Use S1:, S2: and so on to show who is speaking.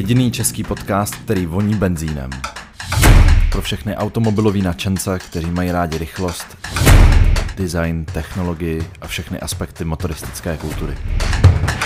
S1: Jediný český podcast, který voní benzínem. Pro všechny automobilový nadšence, kteří mají rádi rychlost, design, technologii a všechny aspekty motoristické kultury.